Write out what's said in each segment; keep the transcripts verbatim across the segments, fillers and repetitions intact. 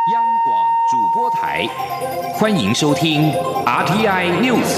央广主播台，欢迎收听 R T I News。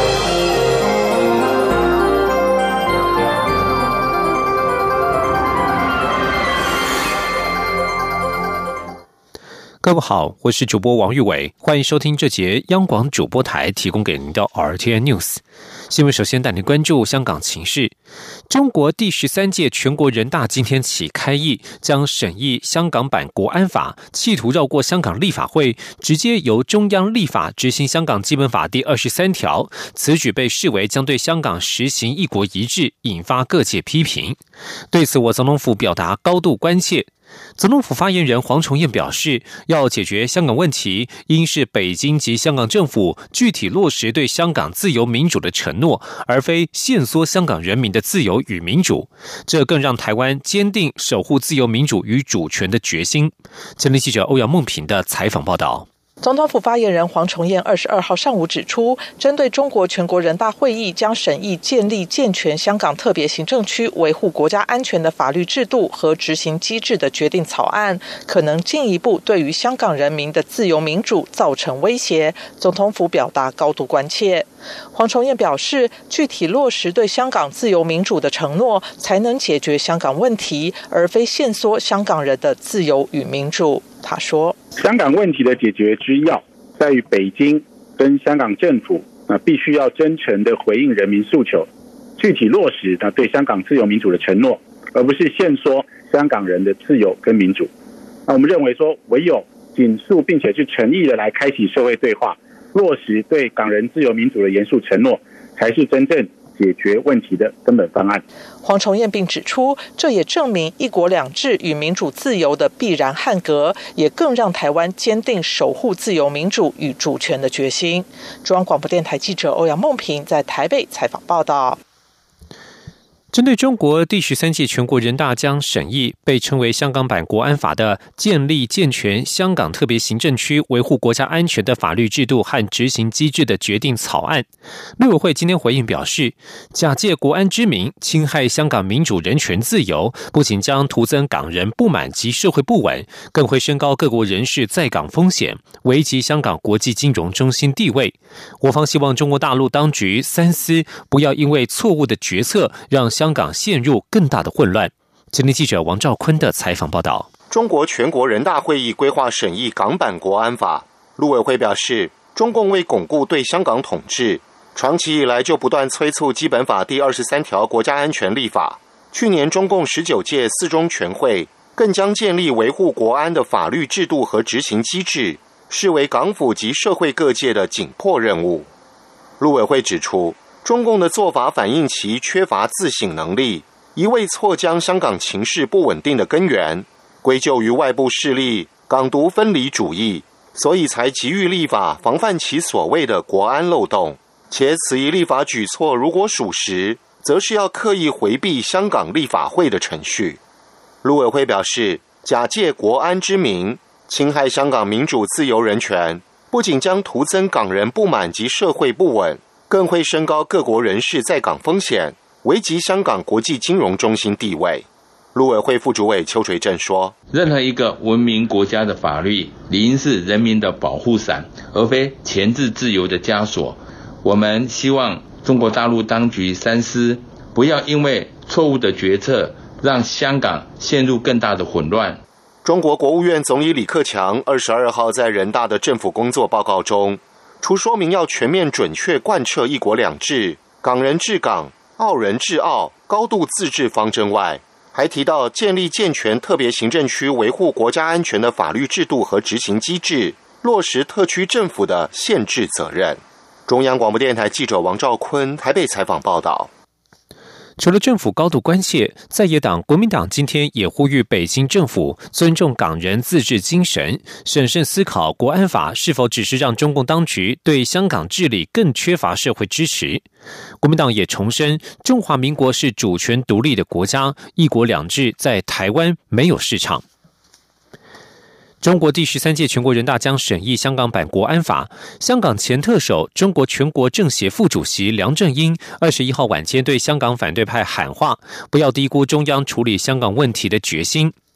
各位好，我是主播王玉伟，欢迎收听这节央广主播台提供给您的 R T I News 新闻。首先带您关注香港情势。中国第十三届全国人大今天起开议，将审议香港版国安法，企图绕过香港立法会，直接由中央立法执行香港基本法第二十三条。此举被视为将对香港实行一国一制，引发各界批评。对此，我总统府表达高度关切。总统府发言人黄崇彦表示，要解决香港问题，应是北京及香港政府具体落实对香港自由民主的承诺，而非限缩香港人民的自由与民主。这更让台湾坚定守护自由民主与主权的决心。前天记者欧阳梦平的采访报道。 总统府发言人黄崇彦二十二号上午指出，针对中国全国人大会议将审议建立健全香港特别行政区维护国家安全的法律制度和执行机制的决定草案，可能进一步对于香港人民的自由民主造成威胁，总统府表达高度关切。黄崇彦表示，具体落实对香港自由民主的承诺，才能解决香港问题，而非限缩香港人的自由与民主。他说， 香港问题的解决之要在于北京跟香港政府必须要真诚的回应人民诉求，具体落实对香港自由民主的承诺，而不是限缩香港人的自由跟民主。那我们认为说，唯有紧速并且是诚意的来开启社会对话，落实对港人自由民主的严肃承诺，才是真正解决问题的根本方案。 黄崇彦并指出，这也证明一国两制与民主自由的必然汉格，也更让台湾坚定守护自由民主与主权的决心。中央广播电台记者欧阳梦平在台北采访报道。 针对中国第十三届全国人大将审议被称为香港版国安法的建立健全香港特别行政区维护国家安全的法律制度和执行机制的决定草案，陆委会今天回应表示，假借国安之名侵害香港民主人权自由，不仅将徒增港人不满及社会不稳，更会升高各国人士在港风险，危及香港国际金融中心地位。我方希望中国大陆当局三思，不要因为错误的决策让香港陷入更大的混乱。前天记者王兆坤的采访报道。 中国全国人大会议规划审议港版国安法，陆委会表示，中共为巩固对香港统治，长期以来就不断催促基本法第二十三条国家安全立法。去年中共十九届四中全会更将建立维护国安的法律制度和执行机制视为港府及社会各界的紧迫任务。陆委会指出，中共的做法反映其缺乏自省能力，一味错将香港情势不稳定的根源归咎于外部势力港独分离主义，所以才急于立法防范其所谓的国安漏洞。且此一立法举措如果属实，则是要刻意回避香港立法会的程序。陆委会表示，假借国安之名侵害香港民主自由人权，不仅将徒增港人不满及社会不稳，更会升高各国人士在港风险，危及香港国际金融中心地位。陆委会副主委邱垂正说， 任何一个文明国家的法律理应是人民的保护伞，而非钳制自由的枷锁。我们希望中国大陆当局三思，不要因为错误的决策让香港陷入更大的混乱。 中国国务院总理李克强二十二号在人大的政府工作报告中，除说明要全面准确贯彻一国两制、港人治港、澳人治澳、高度自治方针外，还提到建立健全特别行政区维护国家安全的法律制度和执行机制，落实特区政府的宪制责任。中央广播电台记者王兆坤台北采访报道。 除了政府高度关切，在野党国民党今天也呼吁北京政府尊重港人自治精神，审慎思考国安法是否只是让中共当局对香港治理更缺乏社会支持。国民党也重申，中华民国是主权独立的国家，一国两制在台湾没有市场。中国第十三届全国人大将审议香港版国安法。香港前特首、中国全国政协副主席梁振英二十一号晚间对香港反对派喊话，不要低估中央处理香港问题的决心。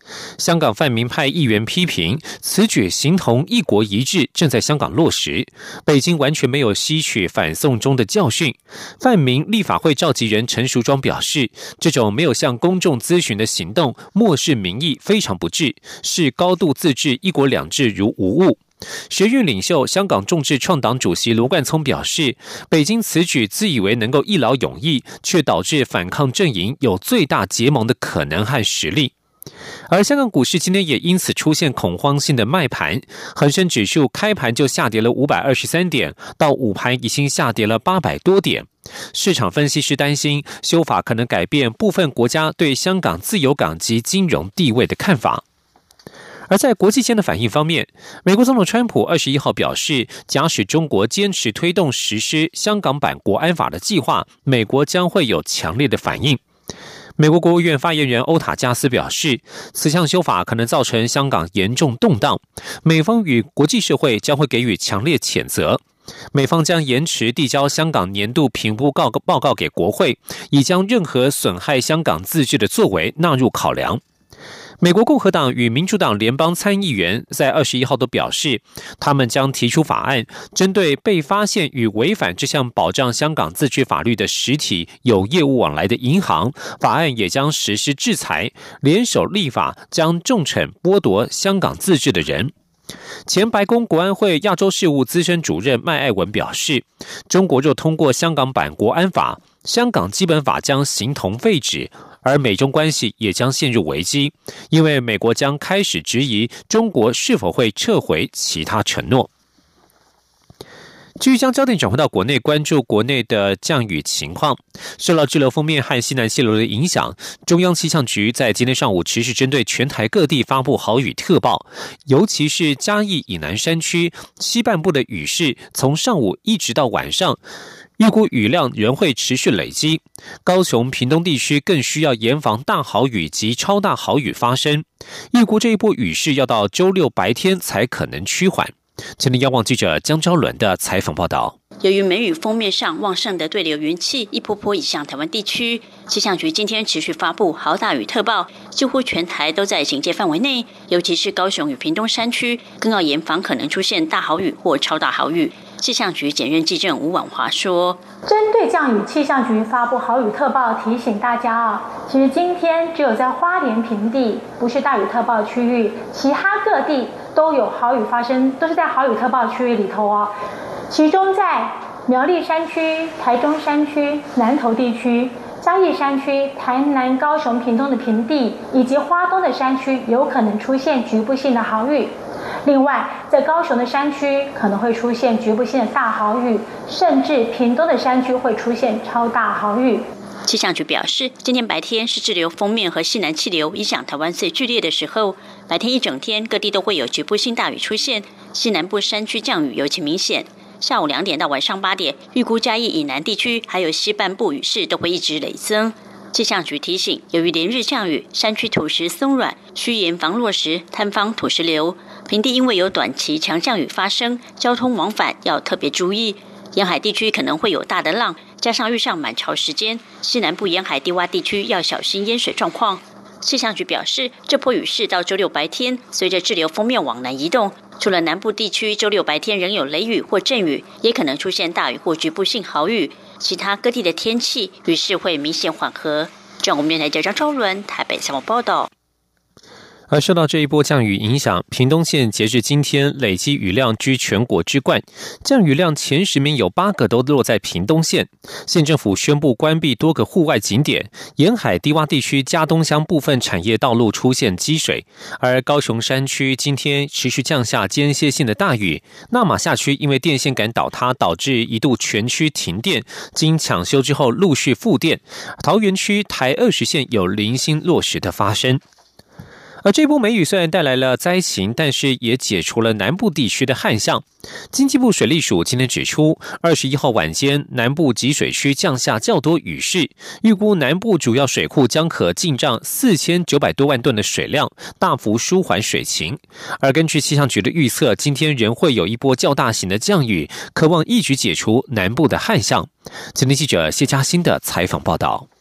香港泛民派议员批评此举形同一国一制正在香港落实，北京完全没有吸取反送中的教训。泛民立法会召集人陈淑庄表示，这种没有向公众咨询的行动漠视民意非常不智，是高度自治一国两制如无物。学运领袖香港众志创党主席罗冠聪表示，北京此举自以为能够一劳永逸，却导致反抗阵营有最大结盟的可能和实力。而香港股市今天也因此出现恐慌性的卖盘，恒生指数开盘就下跌了五百二十三点，到午盘已经下跌了八百多点。市场分析师担心修法可能改变部分国家对香港自由港及金融地位的看法。而在国际间的反应方面，美国总统川普二十一号表示，假使中国坚持推动实施香港版国安法的计划，美国将会有强烈的反应。美国国务院发言人欧塔加斯表示，此项修法可能造成香港严重动荡，美方与国际社会将会给予强烈谴责。美方将延迟递交香港年度评估报告给国会，以将任何损害香港自治的作为纳入考量。美国共和党与民主党联邦参议员在二十一号都表示，他们将提出法案，针对被发现与违反这项保障香港自治法律的实体有业务往来的银行，法案也将实施制裁，联手立法将重惩剥夺香港自治的人。前白宫国安会亚洲事务资深主任麦爱文表示，中国若通过香港版国安法，香港基本法将形同废纸，而美中关系也将陷入危机，因为美国将开始质疑中国是否会撤回其他承诺。继续将焦点转回到国内，关注国内的降雨情况。受到滞留锋面和西南气流的影响，中央气象局在今天上午持续针对全台各地发布豪雨特报，尤其是嘉义以南山区西半部的雨势，从上午一直到晚上，预估雨量仍会持续累积。高雄、屏东地区更需要严防大豪雨及超大豪雨发生。预估这一波雨势要到周六白天才可能趋缓。前天央广记者江昭伦的采访报道。 由于梅雨锋面上旺盛的对流云气一波波移向台湾地区，气象局今天持续发布豪大雨特报，几乎全台都在警戒范围内，尤其是高雄与屏东山区，更要严防可能出现大豪雨或超大豪雨。气象局检任技正吴婉华说， 针对降雨，气象局发布豪雨特报，提醒大家啊，其实今天只有在花莲平地不是大雨特报区域，其他各地都有豪雨发生，都是在豪雨特报区域里头哦。其中在苗栗山区、台中山区、南投地区、嘉义山区、台南、高雄、屏东的平地以及花东的山区，有可能出现局部性的豪雨。另外，在高雄的山区可能会出现局部性的大豪雨，甚至屏东的山区会出现超大豪雨。 气象局表示，今天白天是滞留锋面和西南气流影响台湾最剧烈的时候，白天一整天各地都会有局部性大雨出现，西南部山区降雨尤其明显。下午两点到晚上八点，预估嘉义以南地区还有西半部雨势都会一直累增。气象局提醒，由于连日降雨，山区土石松软，需严防落石、坍方、土石流。平地因为有短期强降雨发生，交通往返要特别注意。沿海地区可能会有大的浪，加上遇上满潮时间，西南部沿海低洼地区要小心淹水状况。气象局表示，这波雨势到周六白天，随着滞留锋面往南移动，除了南部地区周六白天仍有雷雨或阵雨，也可能出现大雨或局部性豪雨，其他各地的天气雨势会明显缓和。中国电台记者张昭伦台北采访报道。 而受到这一波降雨影响，屏东县截至今天累积雨量居全国之冠，降雨量前十名有八个都落在屏东县。县政府宣布关闭多个户外景点，沿海低洼地区嘉东乡部分产业道路出现积水，而高雄山区今天持续降下间歇性的大雨，那马夏区因为电线杆倒塌导致一度全区停电，经抢修之后陆续复电。桃园区台二十线有零星落石的发生。而这波梅雨虽然带来了灾情，但是也解除了南部地区的旱象。经济部水利署今天指出，二十一号晚间南部集水区降下较多雨势，预估南部主要水库将可进账四千九百多万吨的水量，大幅舒缓水情。而根据气象局的预测，今天仍会有一波较大型的降雨，可望一举解除南部的旱象。今天记者谢嘉欣的采访报道。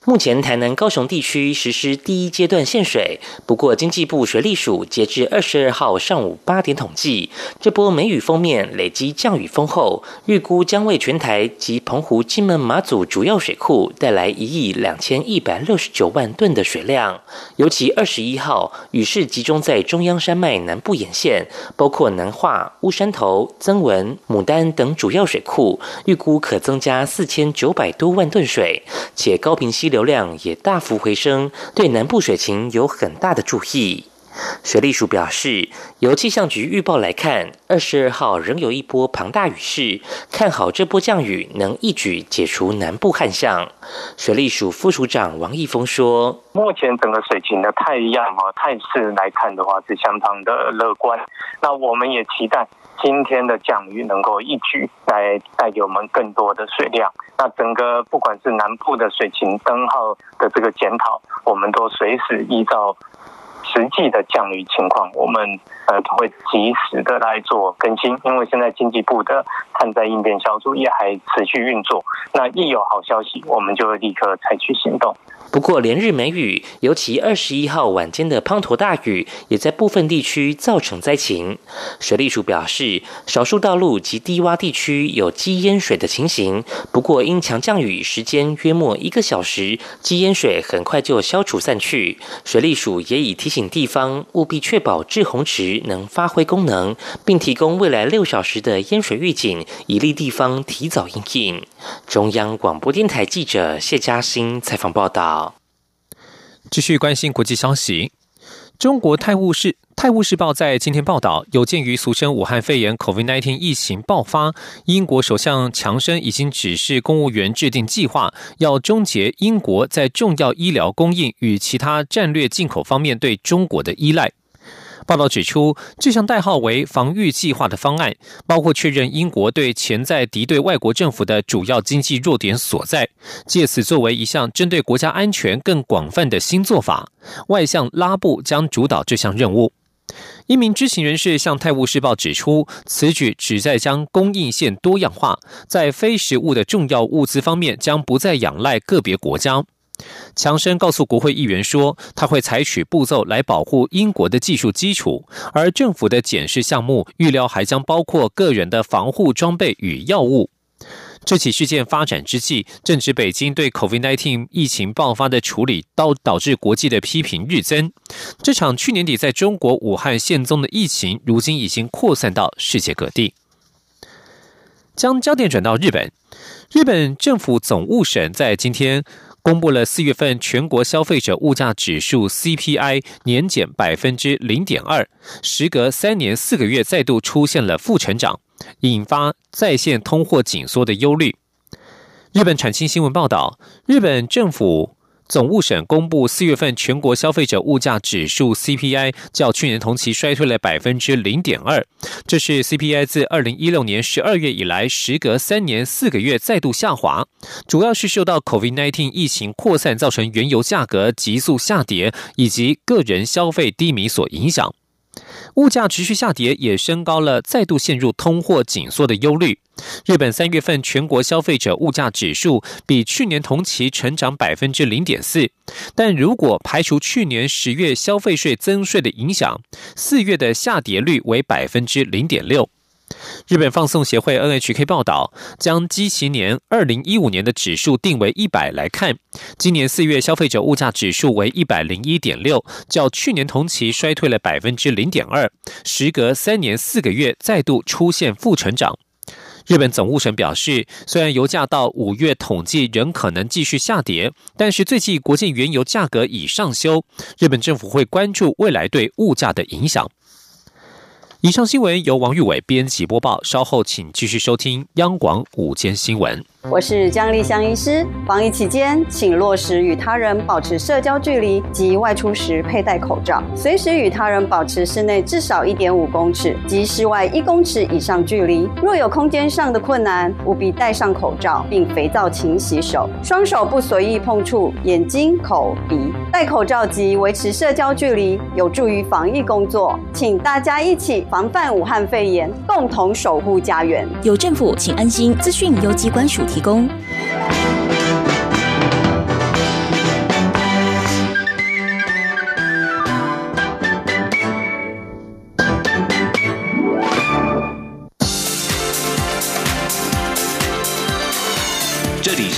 目前台南高雄地区实施第一阶段限水，不过经济部水利署截至二十二号上午八点统计，这波梅雨锋面累积降雨丰厚，预估将为全台及澎湖、金门、马祖主要水库带来一亿两千一百六十九万吨的水量。尤其二十一号雨势集中在中央山脉南部沿线，包括南化、乌山头、曾文、牡丹等主要水库，预估可增加四千九百多万吨水，且高屏溪流量也大幅回升，对南部水情有很大的注意。水利署表示，由气象局预报来看，二十二号仍有一波庞大雨势，看好这波降雨能一举解除南部旱象。水利署副署长王义峰说， 目前整个水情的态样和态势来看的话是相当的乐观，那我们也期待今天的降雨能够一举来带给我们更多的水量。那整个不管是南部的水情灯号的这个检讨，我们都随时依照实际的降雨情况，我们呃会及时的来做更新，因为现在经济部的旱灾应变小组也还持续运作，那一有好消息，我们就会立刻采取行动。 不过连日梅雨，尤其二十一号晚间的滂沱大雨，也在部分地区造成灾情。水利署表示，少数道路及低洼地区有积淹水的情形，不过因强降雨时间约莫一个小时，积淹水很快就消除散去。水利署也已提醒地方务必确保滞洪池能发挥功能，并提供未来六小时的淹水预警，以利地方提早因应。中央广播电台记者谢嘉欣采访报道。 继续关心国际消息，中国泰晤士泰晤士报在今天报道，有鉴于俗称武汉肺炎 COVID 十九 疫情爆发，英国首相强生已经指示公务员制定计划，要终结英国在重要医疗供应与其他战略进口方面对中国的依赖。报道指出，这项代号为防御计划的方案，包括确认英国对潜在敌对外国政府的主要经济弱点所在，借此作为一项针对国家安全更广泛的新做法。外相拉布将主导这项任务。一名知情人士向《泰晤士报》指出，此举旨在将供应线多样化，在非食物的重要物资方面将不再仰赖个别国家。强生告诉国会议员说，他会采取步骤来保护英国的技术基础，而政府的检视项目预料还将包括个人的防护装备与药物。这起事件发展之际，正值北京对 COVID 十九 疫情爆发的处理导导致国际的批评日增。这场去年底在中国武汉现踪的疫情，如今已经扩散到世界各地。将焦点转到日本，日本政府总务省在今天公布了四月份全国消费者物价指数 C P I 年减 百分之零点二， 时隔三年四个月再度出现了负成长，引发再现通货紧缩的忧虑。日本产经新闻报道，日本政府总务省公布四月份全国消费者物价指数 C P I 较去年同期衰退了 百分之零点二， 这是 C P I 自二零一六年十二月以来时隔三年四个月再度下滑，主要是受到 COVID 十九 疫情扩散造成原油价格急速下跌以及个人消费低迷所影响。物价持续下跌也升高了再度陷入通货紧缩的忧虑。日本三月份全国消费者物价指数比去年同期成长 百分之零点四， 但如果排除去年十月消费税增税的影响，四月的下跌率为 百分之零点六。日本放送协会 N H K 报道，将基期年二零一五年的指数定为一百来看，今年四月消费者物价指数为 一百零一点六， 较去年同期衰退了 百分之零点二， 时隔三年四个月再度出现负成长。日本总务省表示，虽然油价到五月统计仍可能继续下跌，但是最近国际原油价格已上修，日本政府会关注未来对物价的影响。以上新闻由王玉伟编辑播报，稍后请继续收听央广午间新闻。 我是江丽香医师。防疫期间，请落实与他人保持社交距离及外出时佩戴口罩，随时与他人保持室内至少 一点五公尺及室外一公尺以上距离。若有空间上的困难，务必戴上口罩，并肥皂勤洗手，双手不随意碰触眼睛、口、鼻。戴口罩及维持社交距离，有助于防疫工作。请大家一起防范武汉肺炎，共同守护家园。 有政府，请安心。资讯由机关署提供。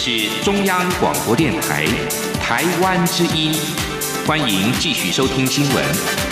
是中央广播电台台湾之音，欢迎继续收听新闻。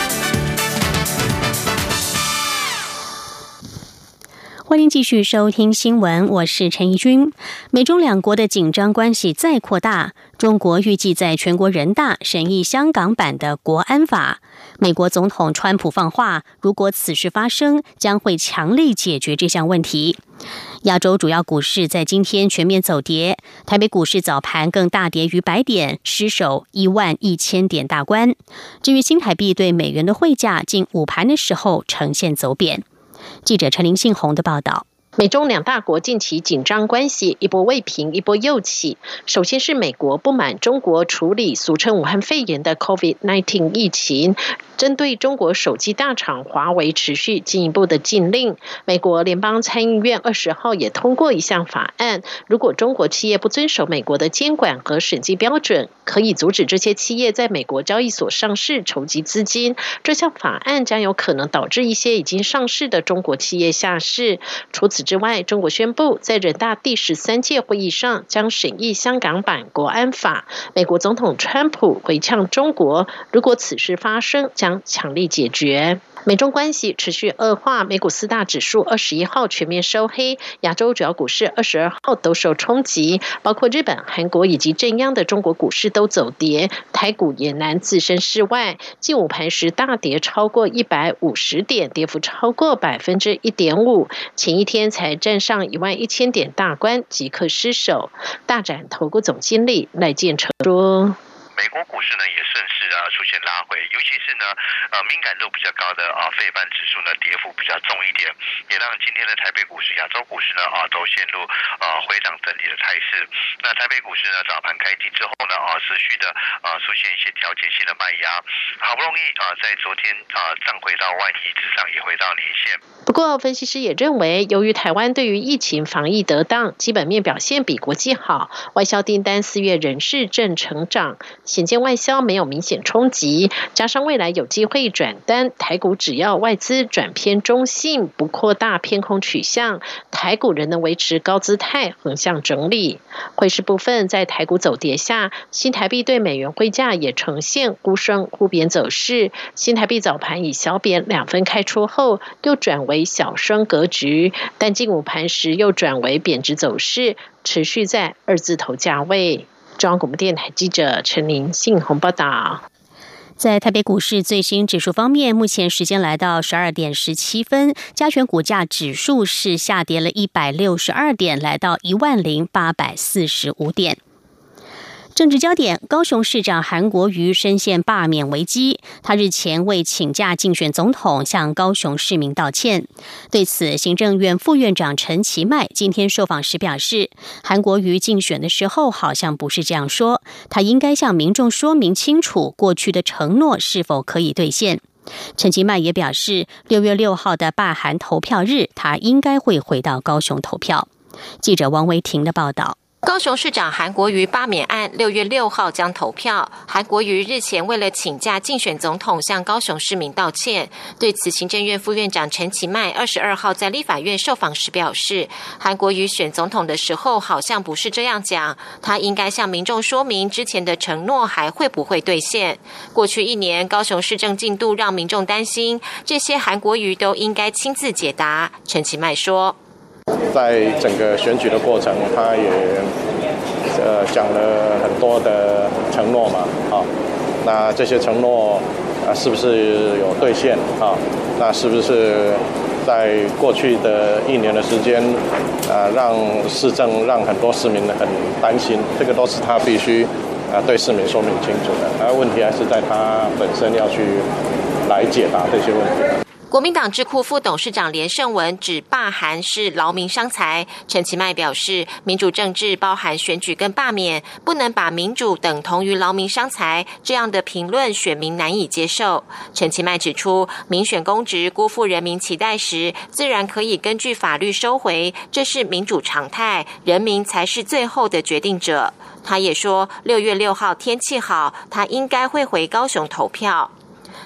欢迎继续收听新闻，我是陈怡君。美中两国的紧张关系再扩大，中国预计在全国人大审议香港版的国安法。美国总统川普放话，如果此事发生，将会强力解决这项问题。亚洲主要股市在今天全面走跌，台北股市早盘更大跌逾百点，失守一万一千点大关。至于新台币对美元的汇价，近午盘的时候呈现走贬。记者陈林信宏的报道。 美中两大国近期紧张关系一波未平一波又起。首先是美国不满中国处理俗称武汉肺炎的 COVID 十九 疫情，针对中国手机大厂华为持续进一步的禁令。美国联邦参议院二十号也通过一项法案，如果中国企业不遵守美国的监管和审计标准，可以阻止这些企业在美国交易所上市筹集资金。这项法案将有可能导致一些已经上市的中国企业下市。除此之外，中国宣布在人大第十三届会议上将审议香港版国安法。美国总统川普回呛中国，如果此事发生，将强力解决。美中关系持续恶化，美股四大指数二十一号全面收黑，亚洲主要股市二十二号都受冲击，包括日本、韩国以及震央的中国股市都走跌，台股也难置身事外。近午盘时大跌超过一百五十点，跌幅超过百分之一点五。前一天才站上一万一千点大关，即刻失守。大展投顾总经理赖建成说。 美国股市呢也顺势啊出现拉回，尤其是呢呃敏感度比较高的啊费半指数呢跌幅比较重一点，也让今天的台北股市、亚洲股市呢啊都陷入啊回涨整理的态势。那台北股市呢早盘开低之后呢啊持续的啊出现一些调节性的卖压，好不容易啊在昨天啊涨回到万一之上，也回到年线。 不过分析师也认为，由于台湾对于疫情防疫得当，基本面表现比国际好，外销订单四月仍是正成长，显见外销没有明显冲击，加上未来有机会转单，台股只要外资转偏中性，不扩大偏空取向，台股仍能维持高姿态横向整理。汇市部分，在台股走跌下，新台币对美元汇价也呈现忽升忽贬走势，新台币早盘以小贬两分开出后，又转为小升格局，但近午盘时又转为贬值走势，持续在二字头价位。中央广播电台记者陈林信宏报道。 在台北股市最新指数方面，目前时间来到十二点十七分，加权股价指数是下跌了一百六十二点，来到一万零八百四十五点。政治焦点，高雄市长韩国瑜深陷罢免危机，他日前为请假竞选总统向高雄市民道歉。对此，行政院副院长陈其迈今天受访时表示，韩国瑜竞选的时候好像不是这样说，他应该向民众说明清楚过去的承诺是否可以兑现。陈其迈也表示，六月六号的罢韩投票日，他应该会回到高雄投票。记者王维婷的报道。 高雄市长韩国瑜罢免案六月六号将投票。韩国瑜日前为了请假竞选总统，向高雄市民道歉。对此，行政院副院长陈其迈二十二号在立法院受访时表示，韩国瑜选总统的时候好像不是这样讲，他应该向民众说明之前的承诺还会不会兑现。过去一年高雄市政进度让民众担心，这些韩国瑜都应该亲自解答。陈其迈说， 在整个选举的过程，他也呃讲了很多的承诺嘛，啊，那这些承诺啊是不是有兑现啊？那是不是在过去的一年的时间啊，让市政让很多市民很担心？这个都是他必须啊对市民说明清楚的。那问题还是在他本身要去来解答这些问题。 国民党智库副董事长连胜文指罢韩是劳民伤财。陈其迈表示，民主政治包含选举跟罢免，不能把民主等同于劳民伤财，这样的评论选民难以接受。陈其迈指出，民选公职辜负人民期待时，自然可以根据法律收回，这是民主常态，人民才是最后的决定者。他也说，六月六号天气好，他应该会回高雄投票。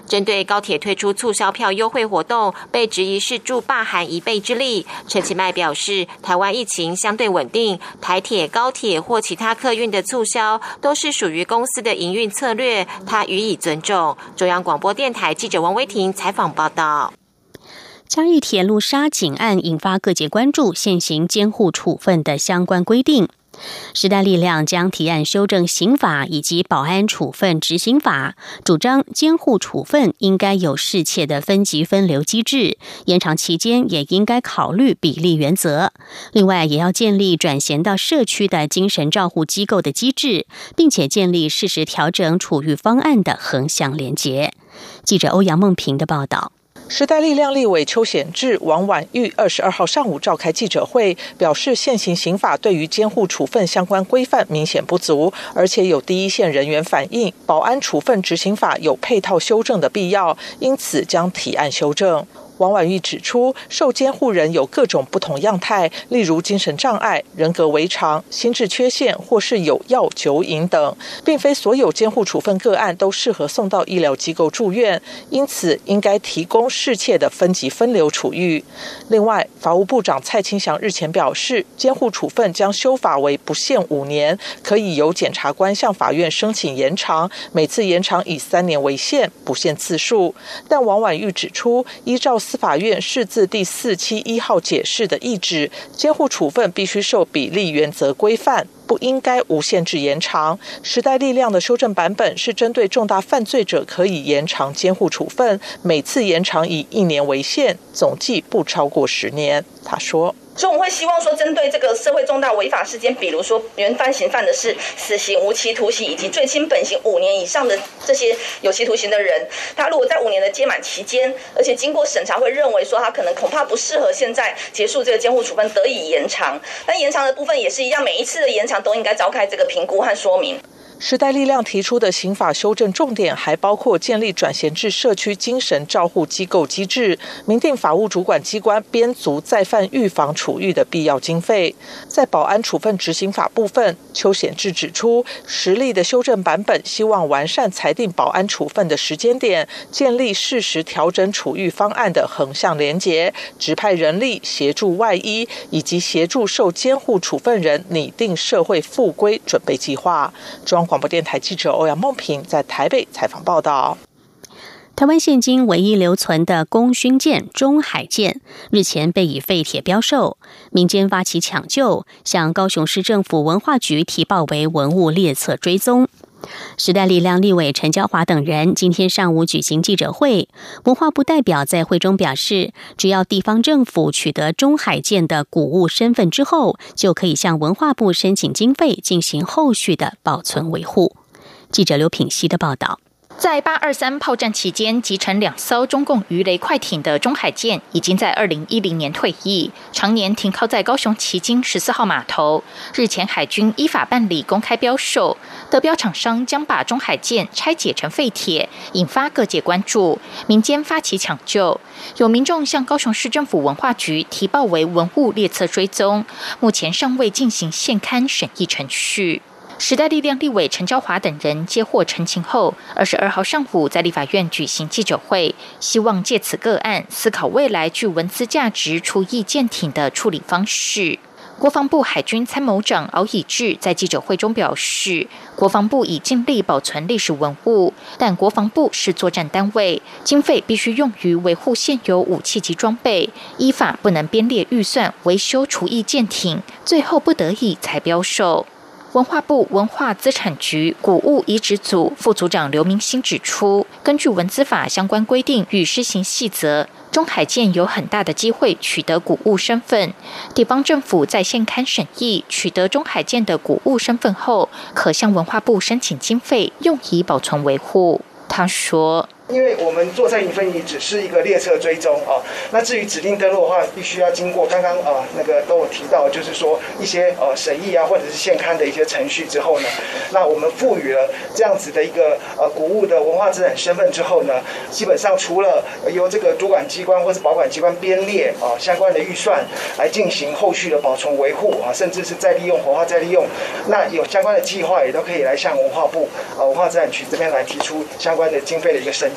针对高铁推出促销票优惠活动，被质疑是助罢韩一臂之力。陈其迈表示，台湾疫情相对稳定，台铁、高铁或其他客运的促销都是属于公司的营运策略，他予以尊重。中央广播电台记者王威婷采访报道。 嘉义铁路杀警案引发各界关注现行监护处分的相关规定。时代力量将提案修正刑法以及保安处分执行法，主张监护处分应该有适切的分级分流机制，延长期间也应该考虑比例原则。另外，也要建立转衔到社区的精神照护机构的机制，并且建立适时调整处遇方案的横向连结。记者欧阳梦平的报道。 时代力量立委邱显智、王婉玉二十二号上午召开记者会，表示现行刑法对于监护处分相关规范明显不足，而且有第一线人员反映保安处分执行法有配套修正的必要，因此将提案修正。王婉玉指出，受监护人有各种不同样态，例如精神障碍、人格违常、心智缺陷或是有药酒瘾等，并非所有监护处分个案都适合送到医疗机构住院，因此应该提供适切的分级分流处遇。另外，法务部长蔡清祥日前表示，监护处分将修法为不限五年，可以由检察官向法院申请延长，每次延长以三年为限，不限次数。但王婉玉指出，依照司法院释字第四七一号解释的意旨，监护处分必须受比例原则规范，不应该无限制延长。时代力量的修正版本是针对重大犯罪者可以延长监护处分，每次延长以一年为限，总计不超过十年。他说， 所以我们会希望说，针对这个社会重大违法事件，比如说原犯刑犯的是死刑、无期徒刑以及最轻本刑五年以上的这些有期徒刑的人，他如果在五年的届满期间，而且经过审查会认为说他可能恐怕不适合现在结束这个监护处分，得以延长。但延长的部分也是一样，每一次的延长都应该召开这个评估和说明。 时代力量提出的刑法修正重点还包括建立转衔至社区精神照护机构机制，明定法务主管机关编足再犯预防处遇的必要经费。在保安处分执行法部分，邱显智指出，实例的修正版本希望完善裁定保安处分的时间点，建立适时调整处遇方案的横向连结，指派人力协助外医，以及协助受监护处分人拟定社会复归准备计划。中央广播电台记者欧阳梦平在台北采访报道。 台湾现今唯一留存的功勋舰中海舰日前被以废铁标售，民间发起抢救，向高雄市政府文化局提报为文物列册追踪。时代力量立委陈椒华等人今天上午举行记者会，文化部代表在会中表示，只要地方政府取得中海舰的古物身份之后，就可以向文化部申请经费进行后续的保存维护。记者刘品希的报道。 在八二三炮战期间击沉两艘中共鱼雷快艇的中海舰，已经在二零一零年退役，常年停靠在高雄旗津十四号码头。日前海军依法办理公开标售，得标厂商将把中海舰拆解成废铁，引发各界关注，民间发起抢救。有民众向高雄市政府文化局提报为文物列册追踪，目前尚未进行现勘审议程序。时代力量立委陈椒华等人接获陈情后，二十二号上午在立法院举行记者会，希望借此个案思考未来具文资价值除役舰艇的处理方式。国防部海军参谋长敖以智在记者会中表示，国防部已尽力保存历史文物，但国防部是作战单位，经费必须用于维护现有武器及装备，依法不能编列预算维修除役舰艇，最后不得已才标售。文化部文化资产局古物遗址组副组长刘明兴指出，根据文资法相关规定与施行细则，中海舰有很大的机会取得古物身份。地方政府在现勘审议取得中海舰的古物身份后，可向文化部申请经费，用以保存维护。他说， 因为我们做在营分遗只是一个列册追踪啊，那至于指定登录的话，必须要经过刚刚啊那个都有提到，就是说一些呃审议啊或者是现勘的一些程序之后呢，那我们赋予了这样子的一个呃古物的文化资产身份之后呢，基本上除了由这个主管机关或是保管机关编列啊相关的预算来进行后续的保存维护啊，甚至是再利用活化再利用，那有相关的计划也都可以来向文化部啊文化资产局这边来提出相关的经费的一个申请。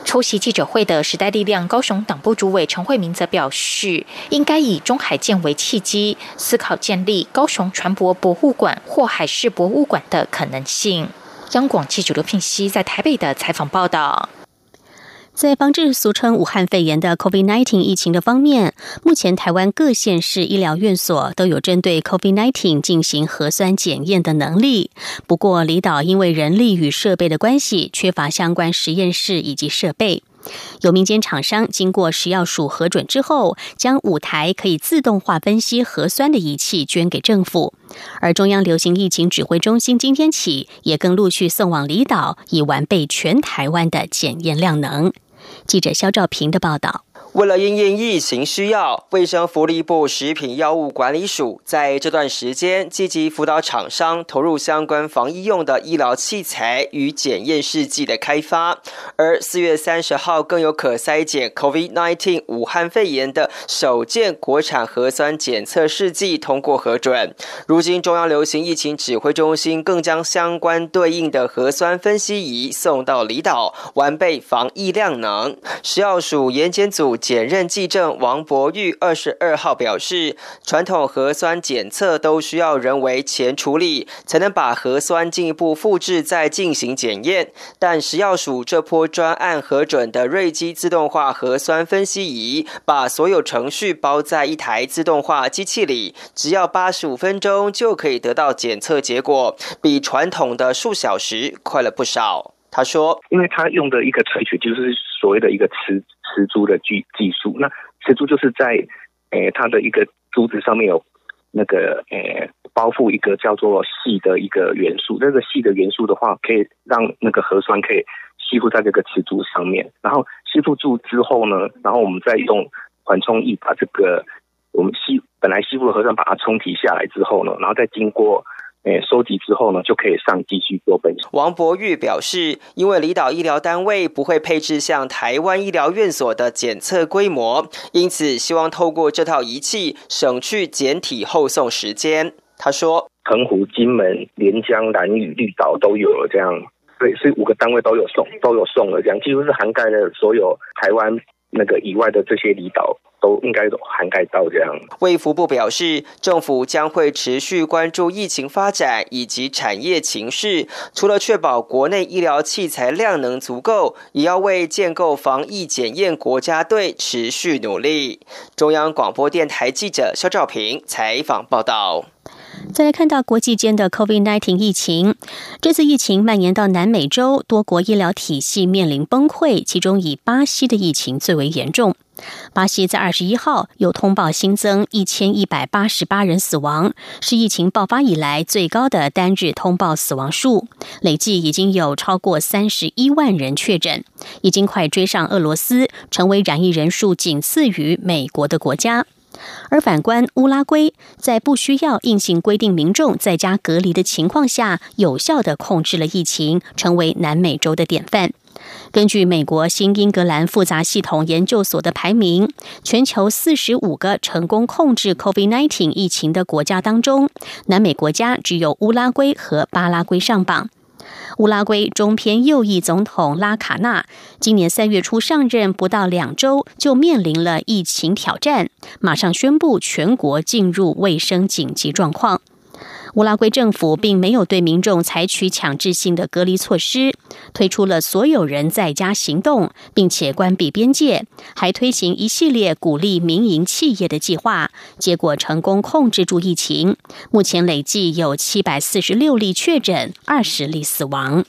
出席记者会的时代力量高雄党部主委陈慧明则表示，应该以中海舰为契机，思考建立高雄船舶博物馆或海事博物馆的可能性。央广记者刘聘熙在台北的采访报道。 在防治俗称武汉肺炎的 COVID 十九 疫情的方面，目前台湾各县市医疗院所都有针对 COVID 十九 进行核酸检验的能力。不过，离岛因为人力与设备的关系，缺乏相关实验室以及设备。有民间厂商经过食药署核准之后，将五台可以自动化分析核酸的仪器捐给政府。而中央流行疫情指挥中心今天起也更陆续送往离岛，以完备全台湾的检验量能。记者肖兆平的报道。 为了因应疫情需要，卫生福利部食品药物管理署在这段时间积极辅导厂商投入相关防疫用的医疗器材与检验试剂的开发。而四月三十号更有可筛检 COVID 十九 武汉肺炎的首件国产核酸检测试剂通过核准。如今中央流行疫情指挥中心更将相关对应的核酸分析仪送到离岛，完备防疫量能。食药署研检组检任技正王博玉二十二号表示，传统核酸检测都需要人为前处理，才能把核酸进一步复制再进行检验。但食药署这波专案核准的瑞基自动化核酸分析仪，把所有程序包在一台自动化机器里，只要八十五分钟就可以得到检测结果，比传统的数小时快了不少。他说， 因为他用的一个萃取就是所谓的一个磁磁珠的技技术，那磁珠就是在诶它的一个珠子上面有那个诶包覆一个叫做硒的一个元素，这个硒的元素的话，可以让那个核酸可以吸附在这个磁珠上面，然后吸附住之后呢，然后我们再用缓冲液把这个我们吸本来吸附的核酸把它冲提下来之后呢，然后再经过诶，收集之后呢，就可以上继续做分析。 王博玉表示，因为离岛医疗单位不会配置像台湾医疗院所的检测规模，因此希望透过这套仪器省去检体后送时间。他说， 澎湖、金门、连江、兰屿、绿岛都有了这样，对，所以五个单位都有送，都有送了这样，几乎是涵盖了所有台湾那个以外的这些离岛。都应该涵盖到这样。 卫福部表示，政府将会持续关注疫情发展以及产业情势，除了确保国内医疗器材量能足够，也要为建构防疫检验国家队持续努力。中央广播电台记者肖兆平采访报道。 再来看到国际间的 COVID 十九 疫情，这次疫情蔓延到南美洲，多国医疗体系面临崩溃，其中以巴西的疫情最为严重。巴西在二十一号有通报新增一千一百八十八人死亡，是疫情爆发以来最高的单日通报死亡数，累计已经有超过三十一万人确诊，已经快追上俄罗斯，成为染疫人数仅次于美国的国家。而反观乌拉圭，在不需要硬性规定民众在家隔离的情况下，有效地控制了疫情，成为南美洲的典范。根据美国新英格兰复杂系统研究所的排名，全球四十五个成功控制 COVID 十九 疫情的国家当中，南美国家只有乌拉圭和巴拉圭上榜。乌拉圭中偏右翼总统拉卡纳今年三月初上任不到两周，就面临了疫情挑战，马上宣布全国进入卫生紧急状况。乌拉圭政府并没有对民众采取强制性的隔离措施，推出了所有人在家行动，并且关闭边界，还推行一系列鼓励民营企业的计划，结果成功控制住疫情。目前累计有七百四十六例确诊，二十例死亡。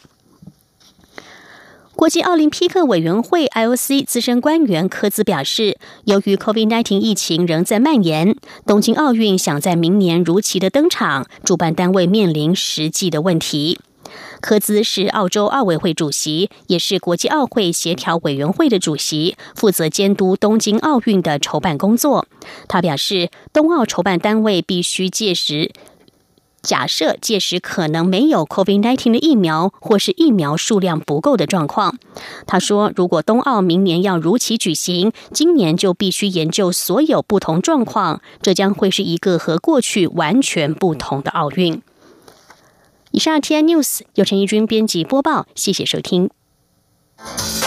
国际奥林匹克委员会 I O C 资深官员科兹表示，由于 COVID 十九 疫情仍在蔓延，东京奥运想在明年如期的登场，主办单位面临实际的问题。科兹是澳洲奥委会主席，也是国际奥会协调委员会的主席，负责监督东京奥运的筹办工作。他表示，冬奥筹办单位必须届时假设届时可能没有 COVID 十九 的疫苗，或是疫苗数量不够的状况。他说，如果冬奥明年要如期举行，今年就必须研究所有不同状况，这将会是一个和过去完全不同的奥运。以上 T I News 由陈怡君编辑播报，谢谢收听。